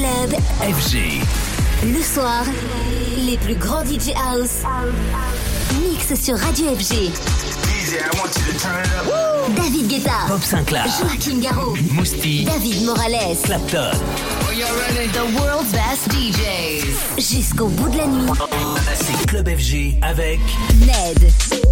Club FG. Le soir, les plus grands DJ House mix sur Radio FG. David Guetta, Bob Sinclair, Joachim Garraud, Mousti, David Morales, Clapton. The world's best DJs. Jusqu'au bout de la nuit. C'est Club FG avec Ned.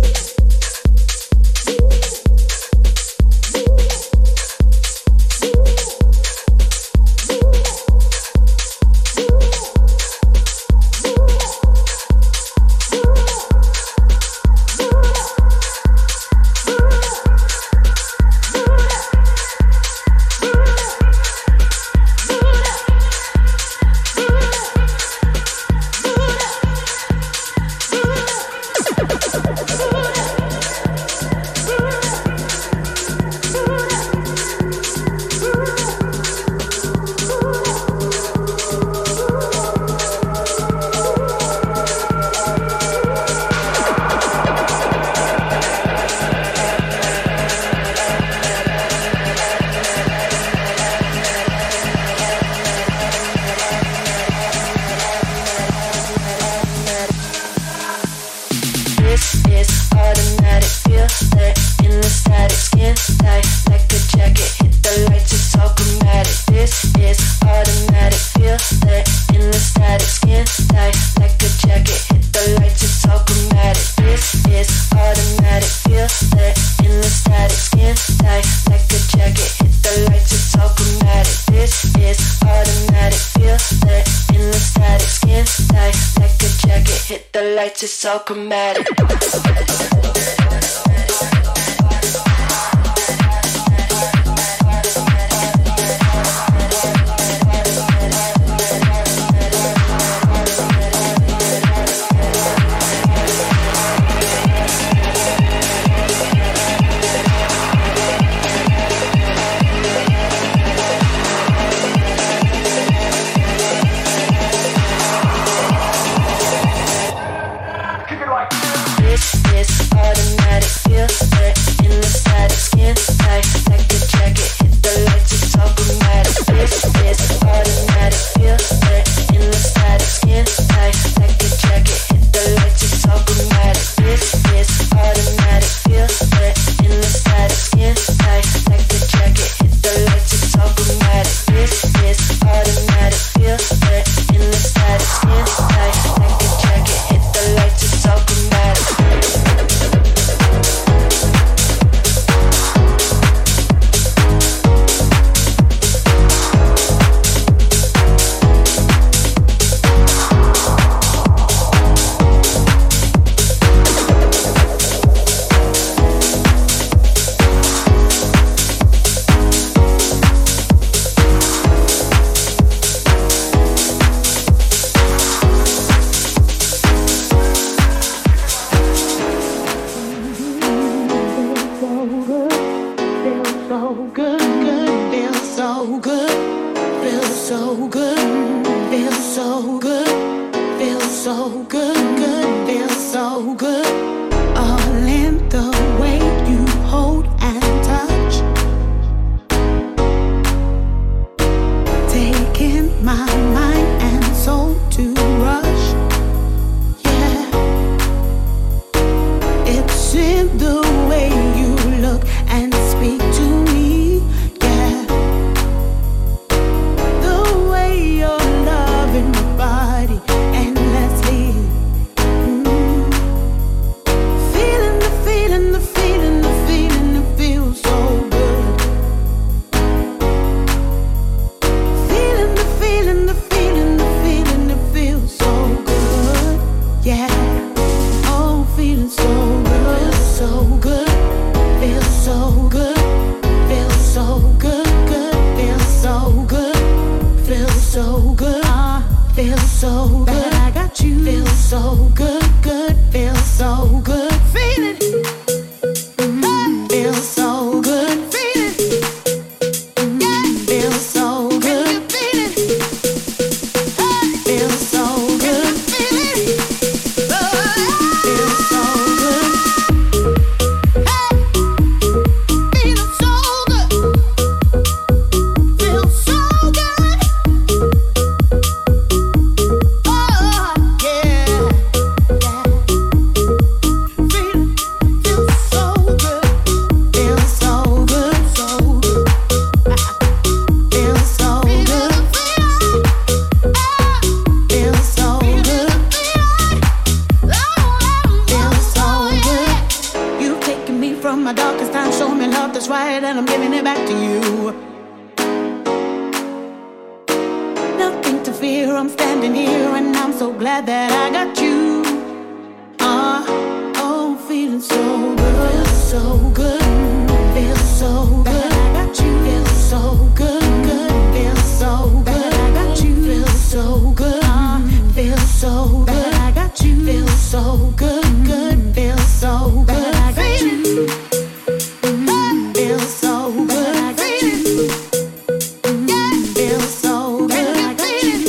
It's so chromatic. The feeling I'm standing here and I'm so glad that I got you. Oh, feeling so good, so good, feel so good. I got you, feel so good, good, feel so good. I got you, feel so good, feel so good. I got you, feel so good, good, feel so good. I got you. Feel so good, I got you. Feel so good, I got you.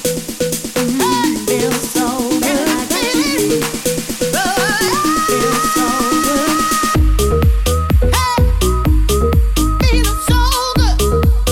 Feel so good, I got you. Feel so good. Hey, feeling so good.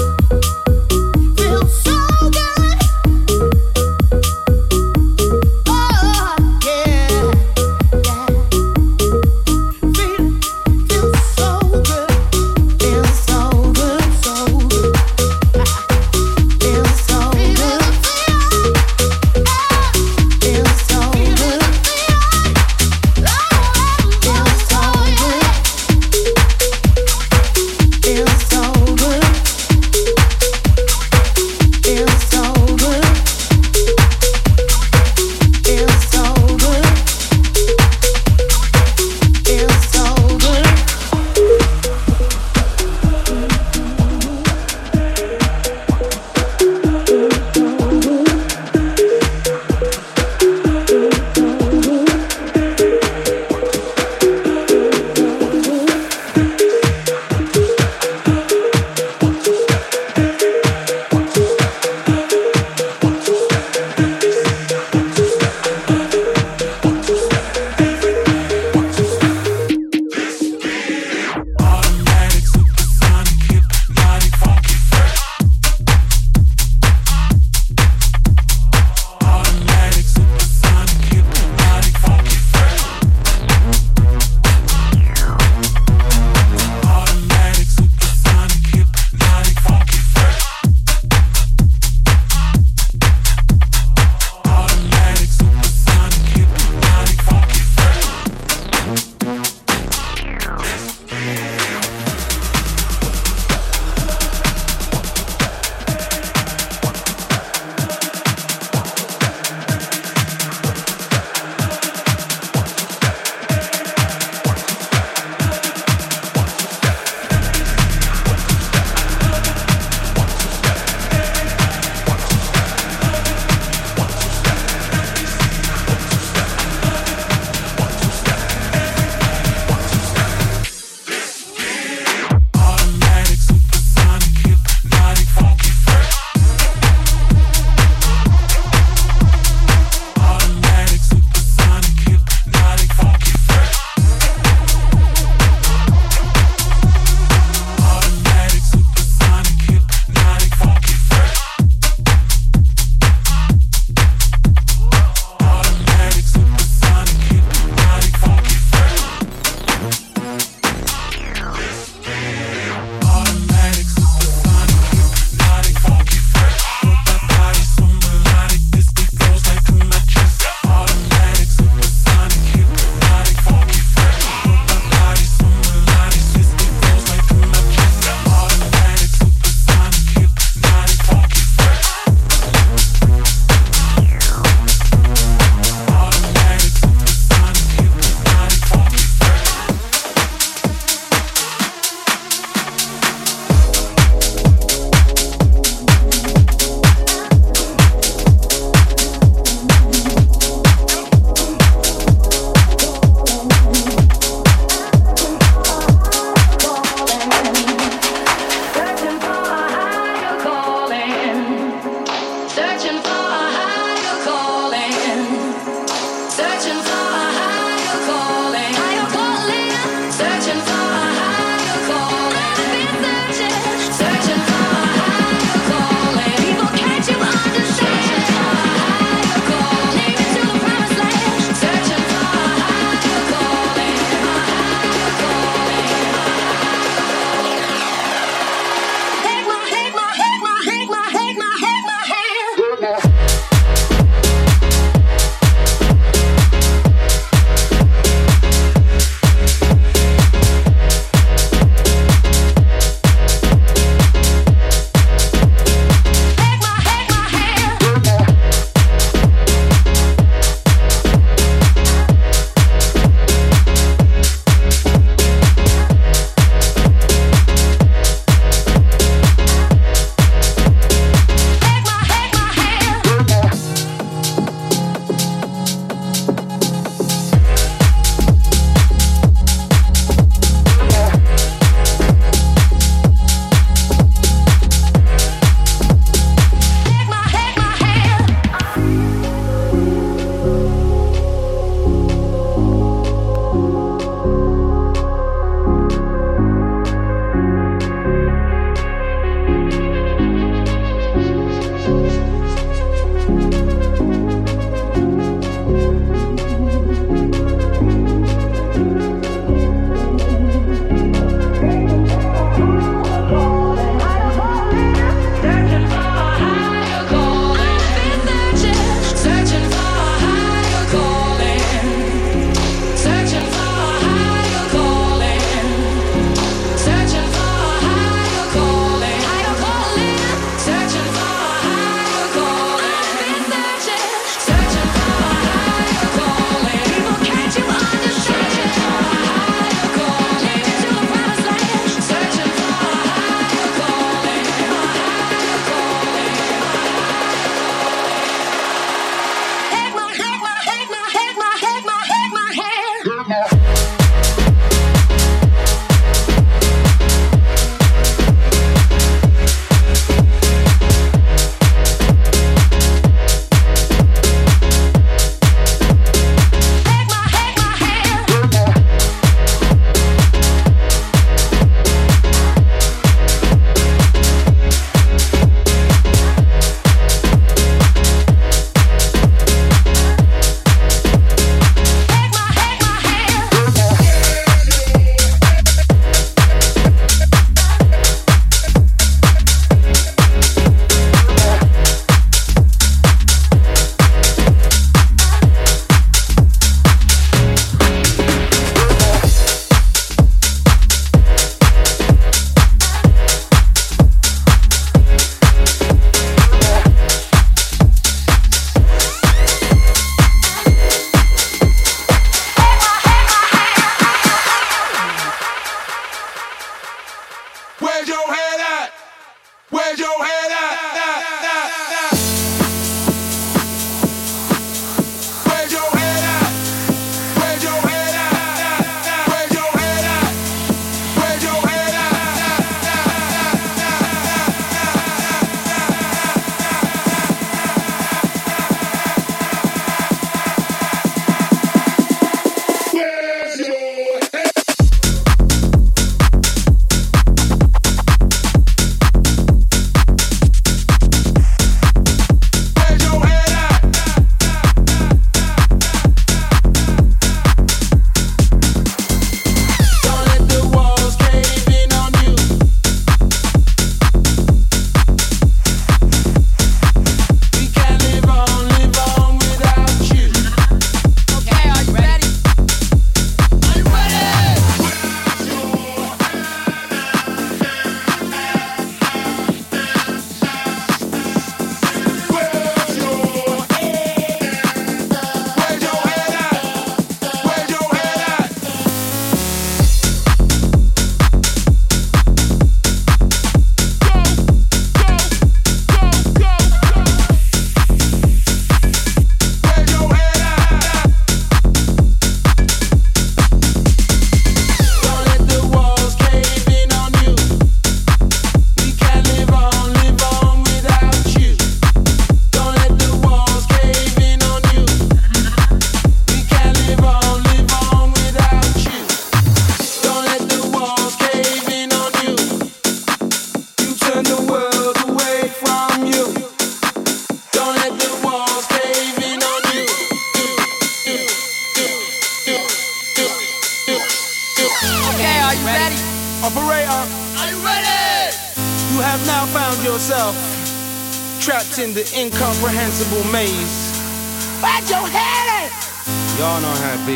yourself trapped in the incomprehensible maze. Where's your head at? Y'all know how it be.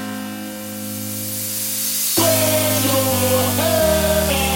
Where's your head at?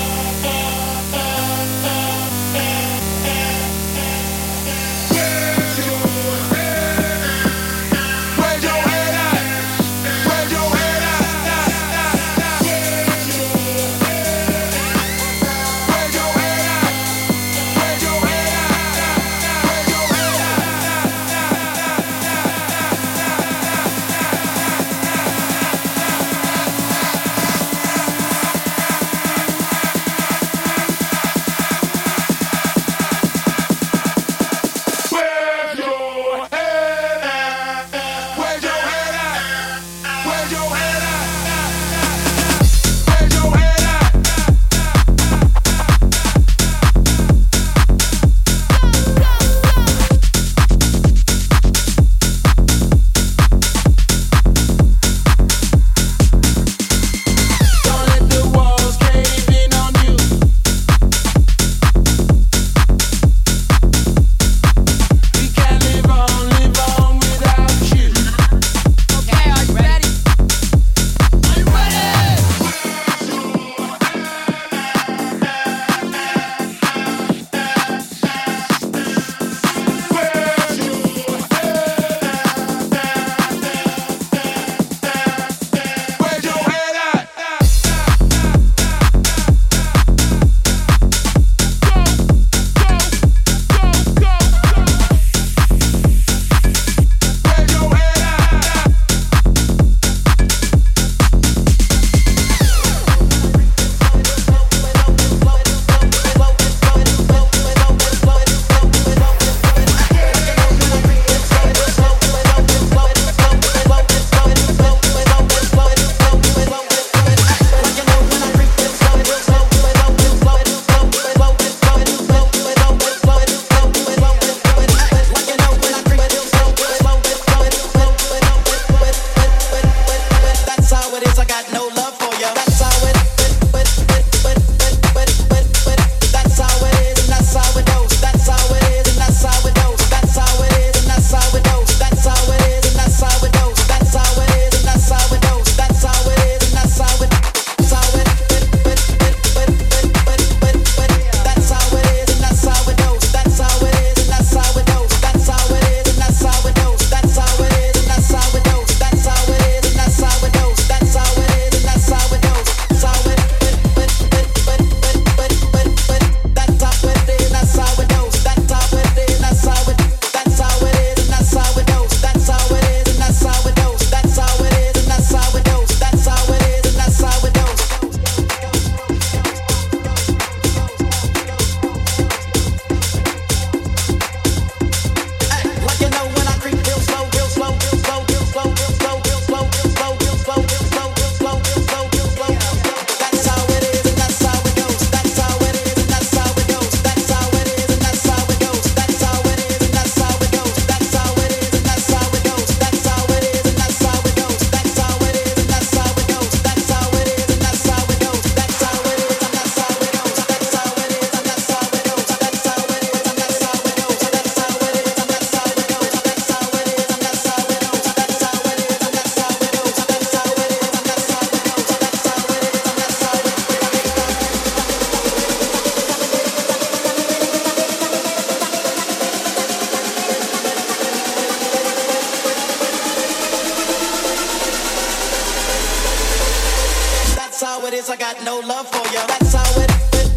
I got no love for you. That's how it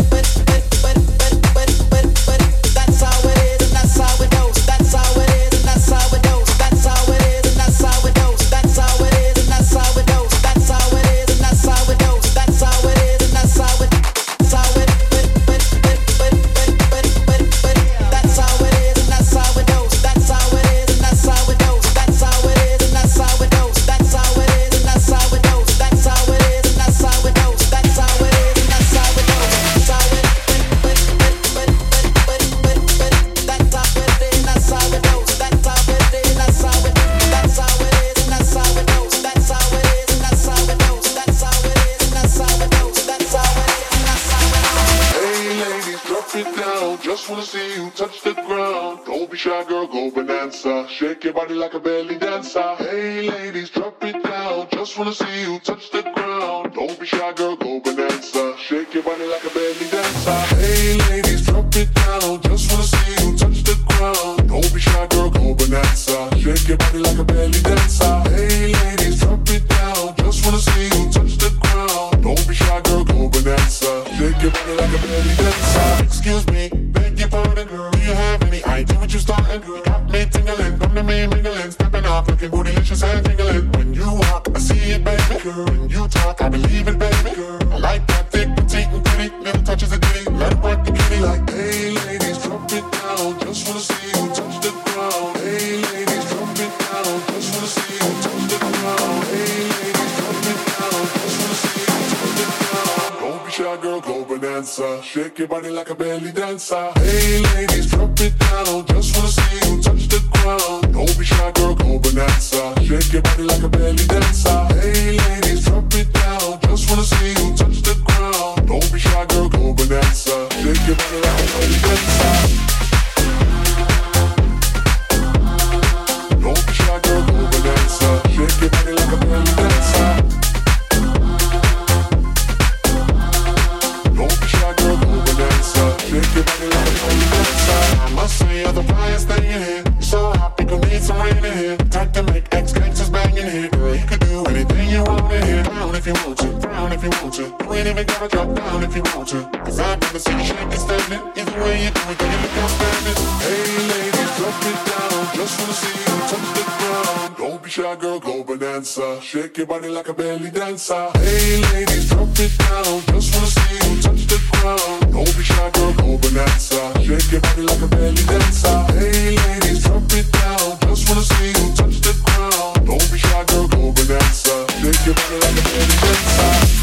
that's how it is, and that's how it goes. That's how it is, and that's how it goes. That's how it is, and that's how it goes. That's how it is, and that's how it goes. That's how it is, and that's how it goes. That's how it is, and that's how it. That's how it. That's how it is, and that's how it goes. That's how it is, and that's how it goes. That's how it is, and that's how it goes. That's how it is, and that's how it goes. That's how it is, and that's how it goes. That's how it is, and that's how it goes. touch the ground. Don't be shy, girl, go bonanza. Shake your body like a belly dancer. Hey, ladies, drop it down. Just wanna see you touch the ground. Don't be shy, girl, go bonanza. Shake your body like a belly dancer. Hey, ladies, drop it down. Just wanna see you touch the ground. Don't be shy, girl, go bonanza. Shake your body like a belly dancer. Hey, ladies, drop it down. Just wanna see you touch the ground. Don't be shy, girl, go bonanza. Shake your body like a belly dancer. Excuse me, beg your pardon, girl. Do you have any idea what you starting, girl? Got me tingling, come to me mingling, stepping off, looking bootylicious and tingling. When you walk, I see it, baby, girl. When you talk, I believe it, baby, girl. I like that thick, petite, and pretty, little touches of ditty. Let it work the kitty like, hey, ladies, drop it down. Just wanna see you touch the ground. Hey, ladies, drop it down. Just wanna see you touch the ground. Hey, ladies, drop it down. Just wanna see you touch the ground. Don't be shy, girl, go bonanza. Shake your body like a belly dancer. Hey, ladies, drop it down. Just wanna see you touch the ground. Don't be shy, girl, go bonanza. Shake your body like a belly dancer. Hey, ladies, drop it down. Just wanna see you touch the ground. Don't be shy, girl, go bonanza. Shake your body like a belly dancer. Don't be shy, girl, go bonanza. Shake your body like a belly dancer. Don't be shy, girl, go bonanza. Shake your body like a belly dancer. I must say you're the brightest thing in here. You're so hot, people need some rain in here. Time to make ex-gangsters bang in here. Girl, you could do anything you want in here. Down if you want to, down if you want to. You ain't even gotta drop down if you want to. Cause I've never seen you shake and standing. Either way you do it, then you look outstanding. Hey ladies, drop it down. Just wanna see you touch the ground. Don't be shy, girl, go bonanza. Shake your body like a belly dancer. Hey ladies, drop it down. Just wanna see you touch the ground. Don't be shy, girl, go bonanza. Shake your body like a belly dancer. Hey ladies, drop it down. Just wanna see you touch the ground. Don't be shy, girl, go bonanza. Shake your body like a belly dancer.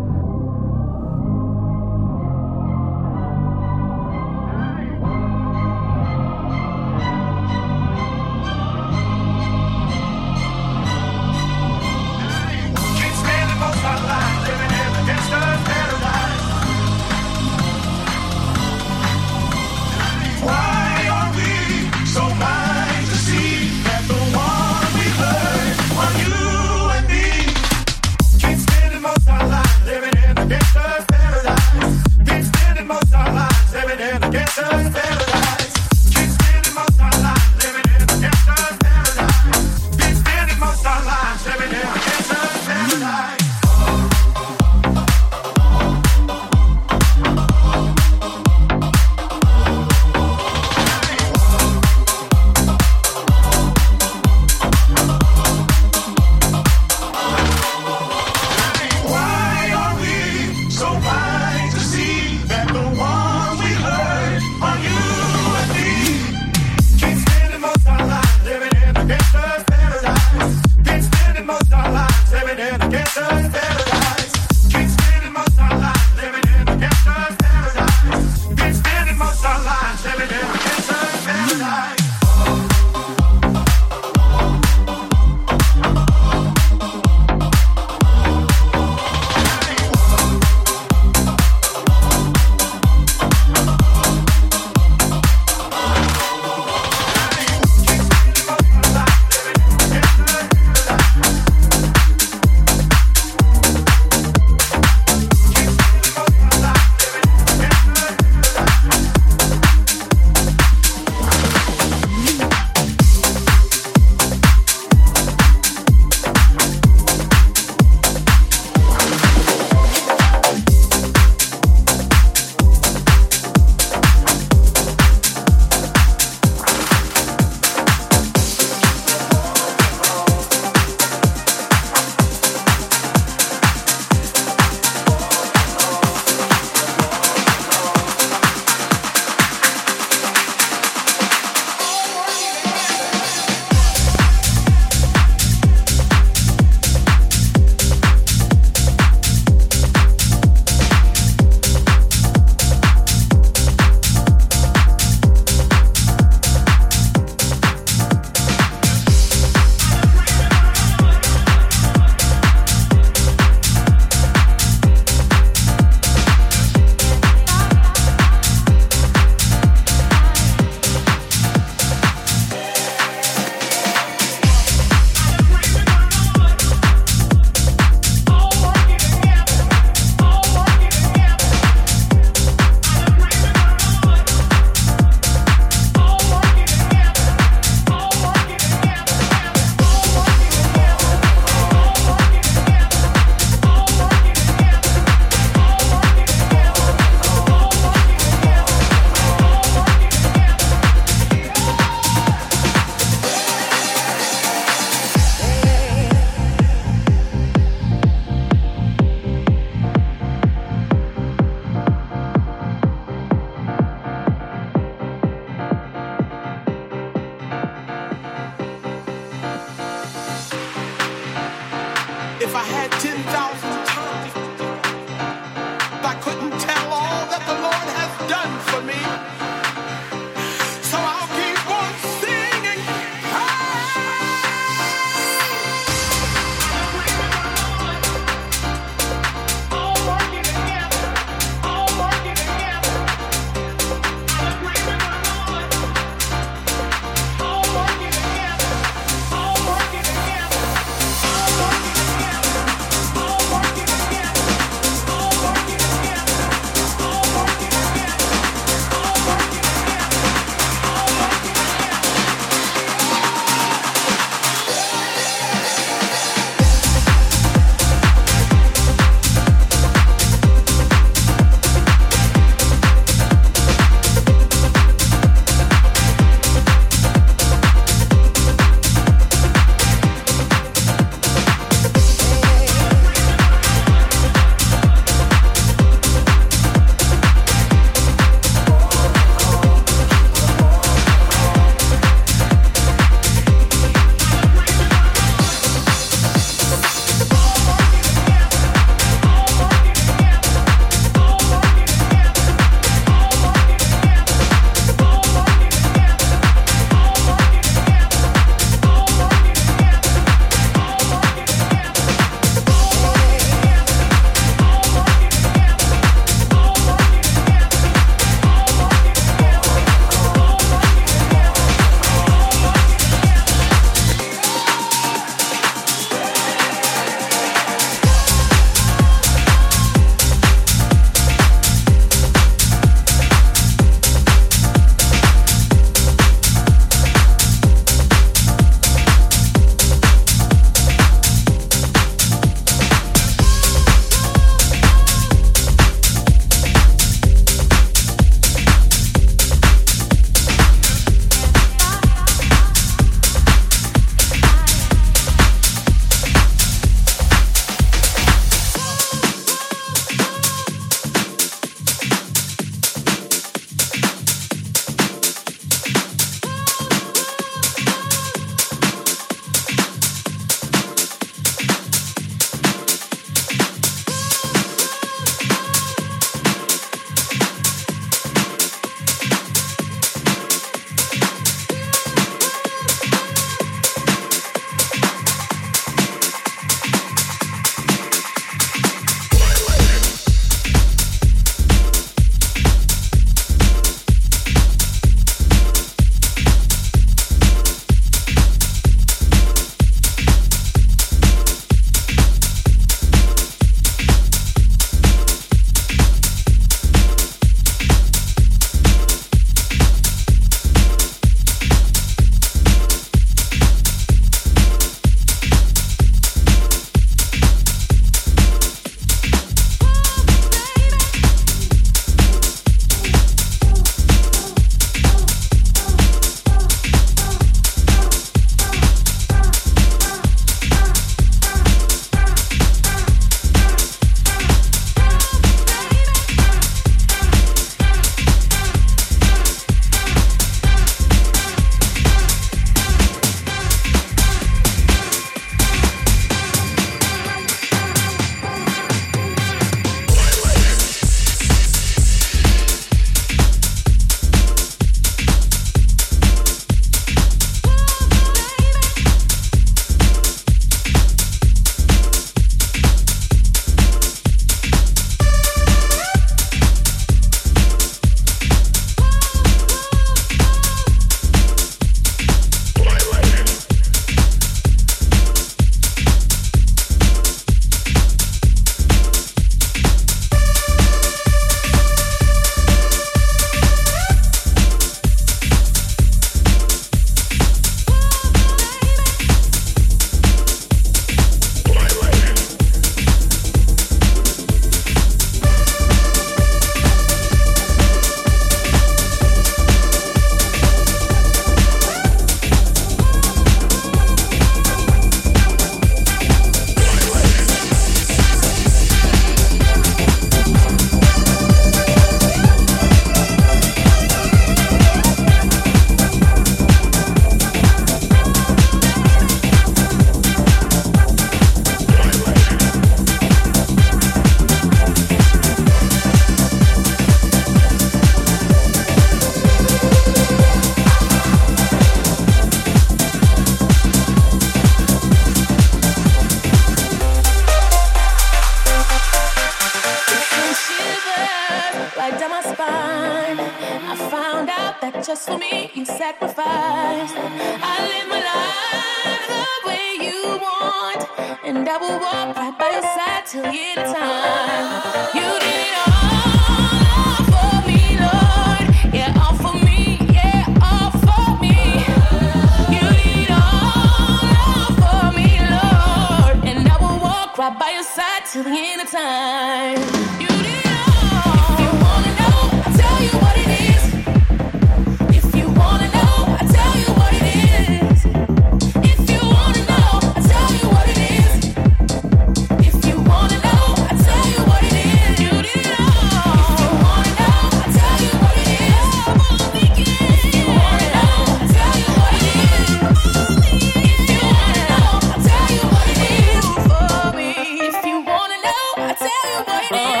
right down my spine. I found out that just for me you sacrificed. I live my life the way you want, and I will walk right by your side till the end of time. You did it all for me, Lord. Yeah, all for me. Yeah, all for me. You did it all for me, Lord, and I will walk right by your side till the end of time. You did it all. If you wanna know, I'll tell you what it is. If you wanna know, I'll tell you what it is. If you wanna know, I'll tell you what it is. If you wanna know, I'll tell you what it is. You did it all. If you wanna know, I'll tell you what it is. If you wanna know, I'll tell you what it is. If you wanna know, I'll tell you what it is for me. If you wanna know, I'll tell you what it is.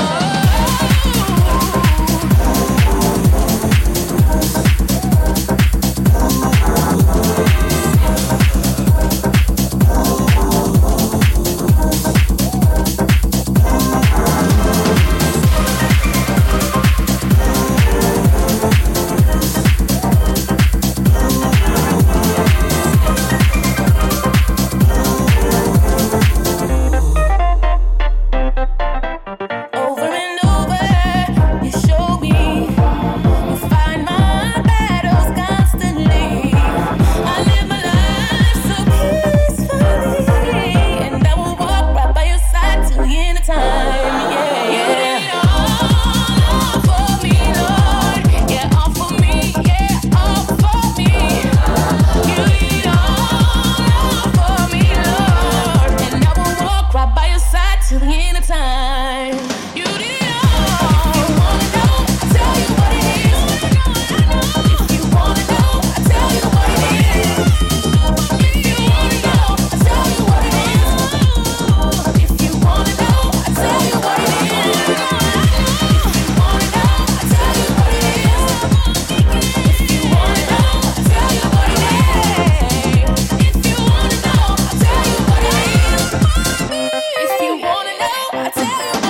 Over and over, you show me. You fight my battles constantly. I live my life so peacefully, and I will walk right by your side till the end of time. Yeah, you did it all for me, Lord. Yeah, all for me. Yeah, all for me. You did it all for me, Lord, and I will walk right by your side till the end of time. You did it all. If you wanna know, I'll tell you what it is. If you wanna know, I'll tell you what it is. If you wanna know, I'll tell you what it is. If you wanna know, I'll tell you what it is. If you wanna know, I'll tell you what it is. If you wanna know, I'll tell you what it is. If you wanna know, I'll tell you what it is. If you wanna know, I'll tell you what it is.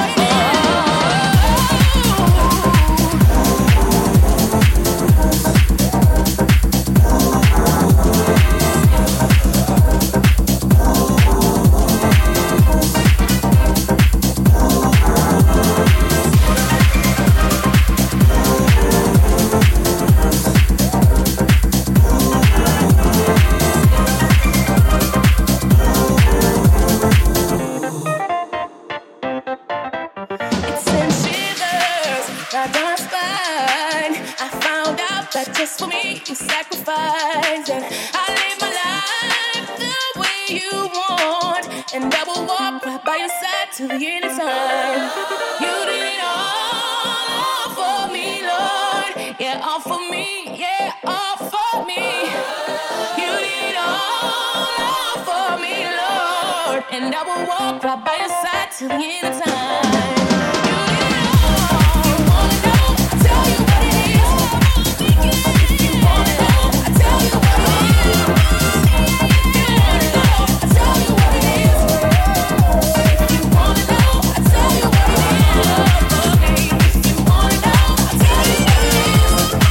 It sends shivers right down my spine. I found out that just for me you sacrificed, and I live my life the way you want, and I will walk right by your side till the end of time. You did it all for me, Lord. Yeah, all for me. Yeah, all for me. You did it all for me, Lord, and I will walk right by your side till the end of time. You did it all. If you wanna know, I'll tell you what it is. If you wanna know, I'll tell you what it is. If you wanna know, I'll tell you what it is. If you wanna know, I'll tell you what it is. If you wanna know, I'll tell you what it is.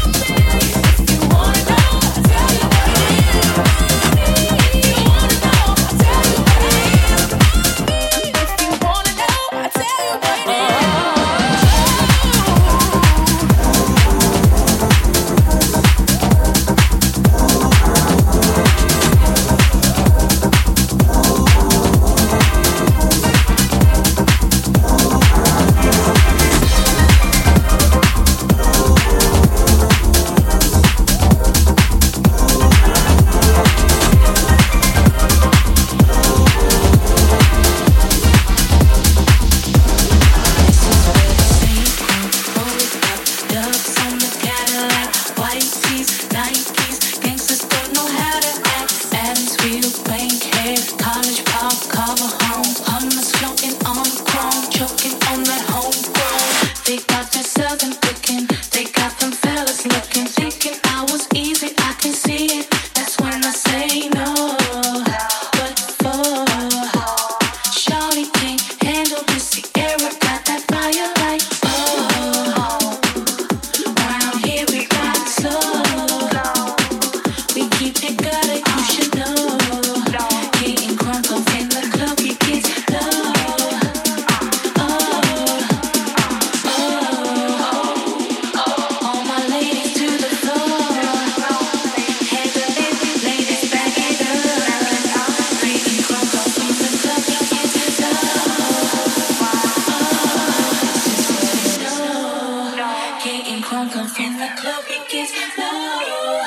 If you wanna know, I'll tell you what it is. If you wanna know, I'll tell you what it is. If you wanna know, I'll tell you what it is. Shawty can't handle this, Sierra got that fire like, oh. crunk up in the club, it gets low.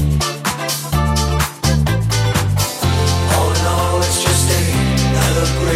Break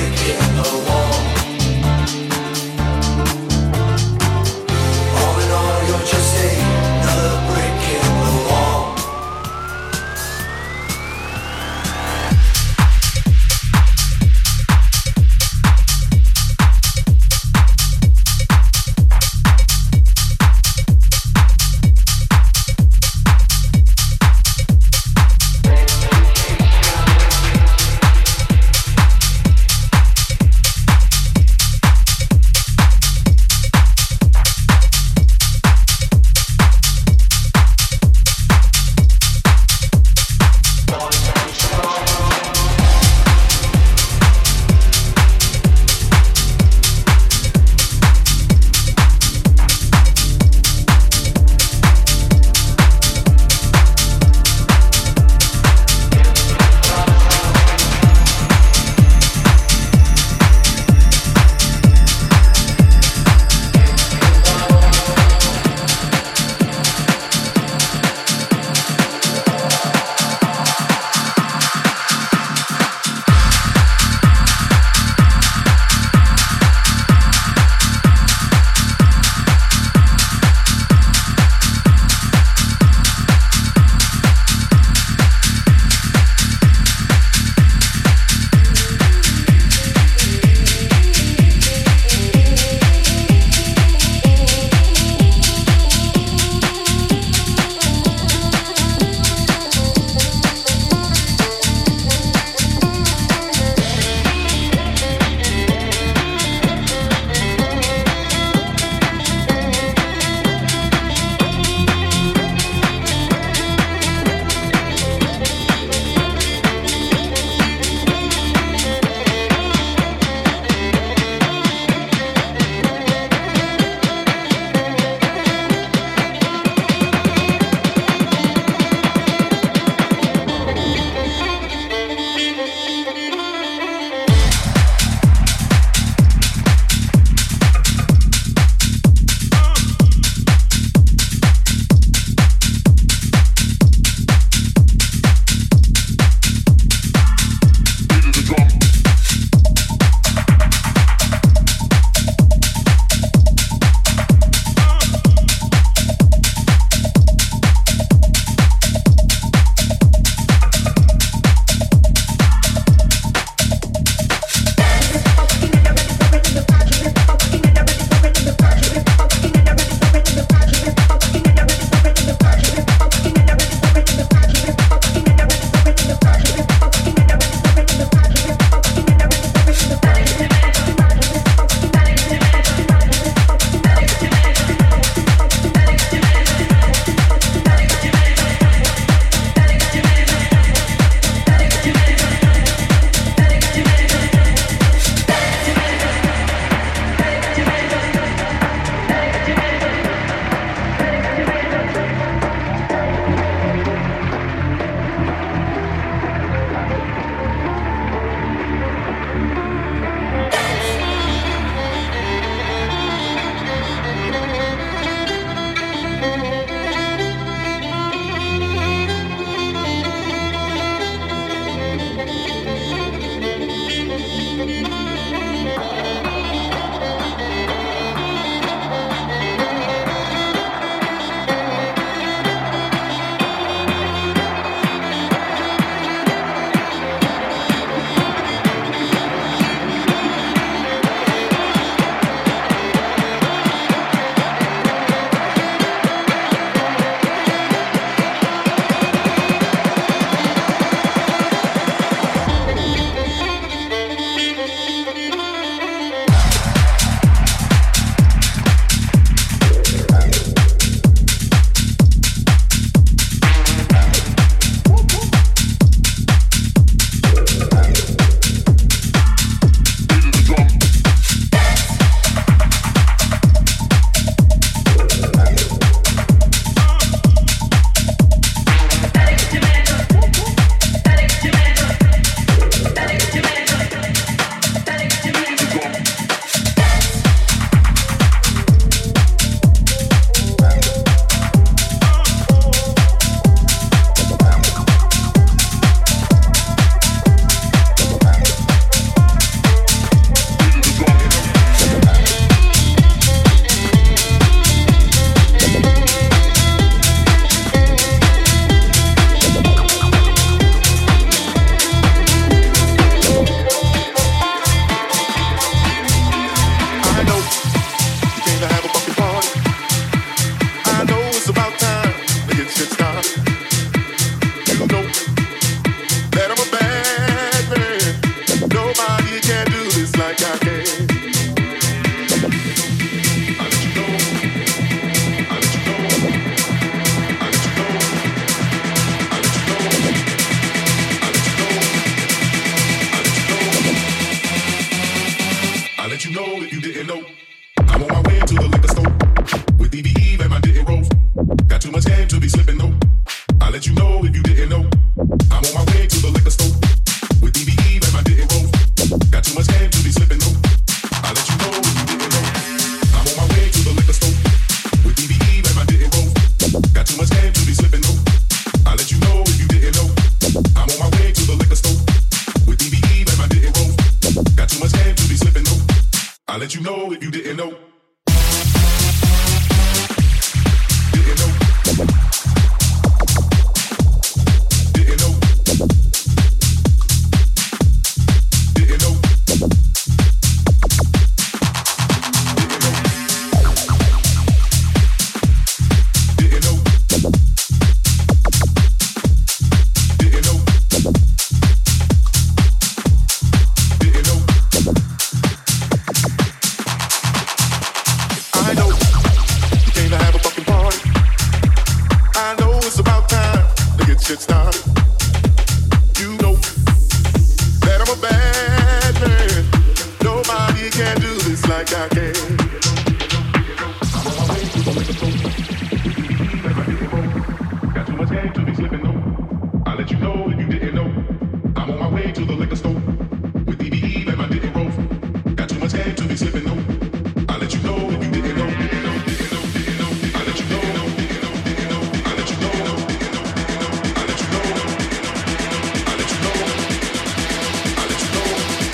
to the liquor store with DBE and my dick and roll. Got too much game to be slipping no. I'll let you know if you didn't know. I'll let you know. I'll let you know. I'll let you know. I'll let you know. I'll let you know. I'll let you know.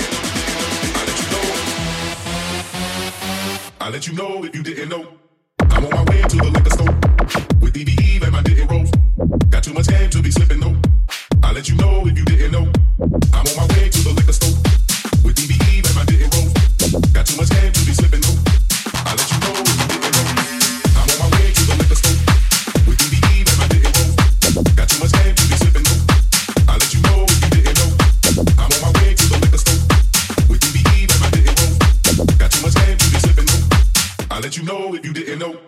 I'll let you know if you didn't know. I'm on my way to the liquor store with DBE and my dick and roll. Got too much game to be slipping no. I'll let you know if you didn't know. I'm on my way to the liquor store with DBE and my dick and roll. Got too much game to be slipping no. I'll let you know if you didn't know. I'm on my way to the liquor store with DBE and my dick and roll. Got too much game to be slipping no. I'll let you know if you didn't know. I'm on my way to the liquor store with DBE and my dick and roll. Got too much game to be slipping no. I'll let you know if you didn't know.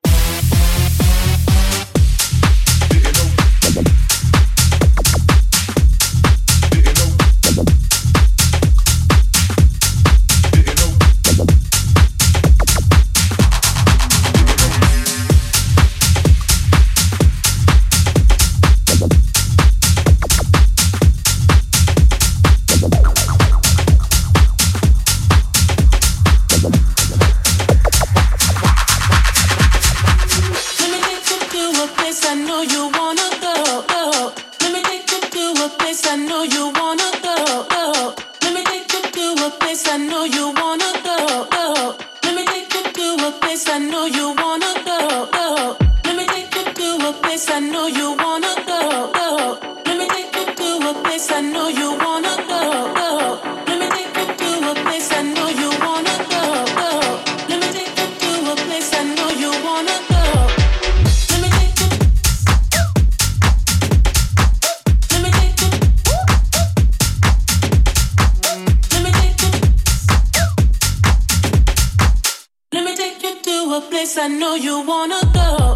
I know you wanna go.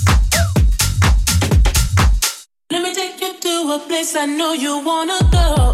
I know you wanna go.